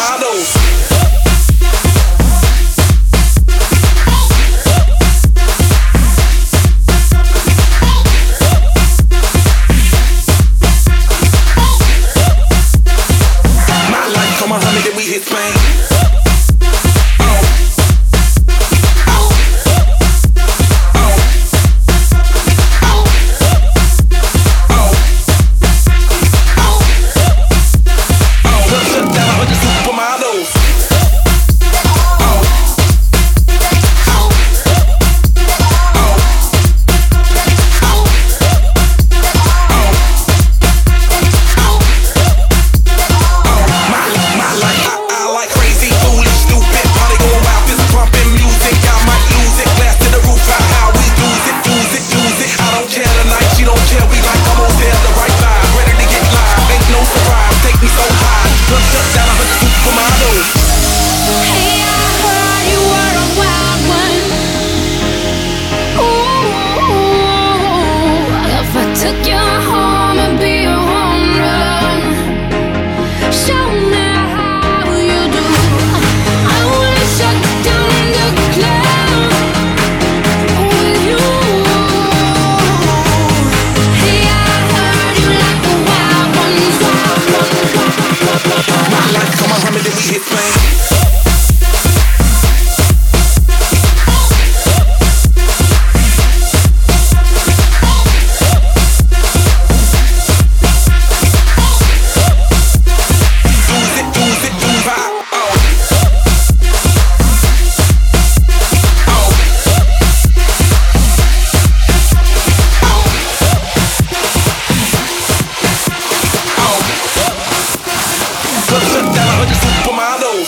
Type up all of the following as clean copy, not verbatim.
supermodels. Then we hit Spain. Shut down 100 supermodels. Took you home and be a home run. Show me how you do. I wanna shut down the club with you. Hey, I heard you like the wild ones, wild ones. My life, come on, Muhammad, then we hit Spain. Shut down 100 supermodels.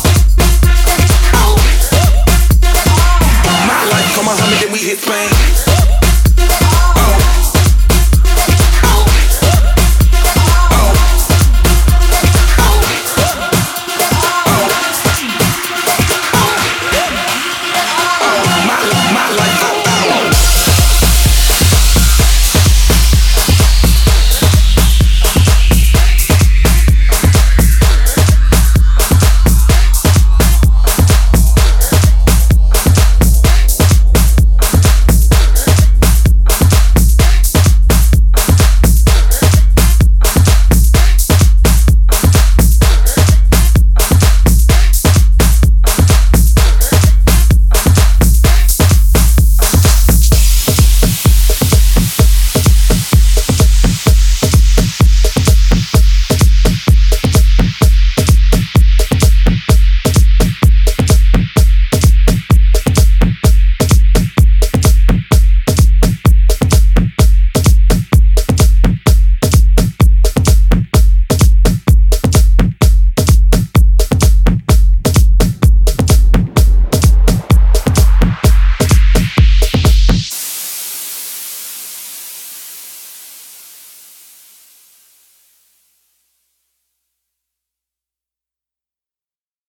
My life, come on, Muhammad, then we hit Spain.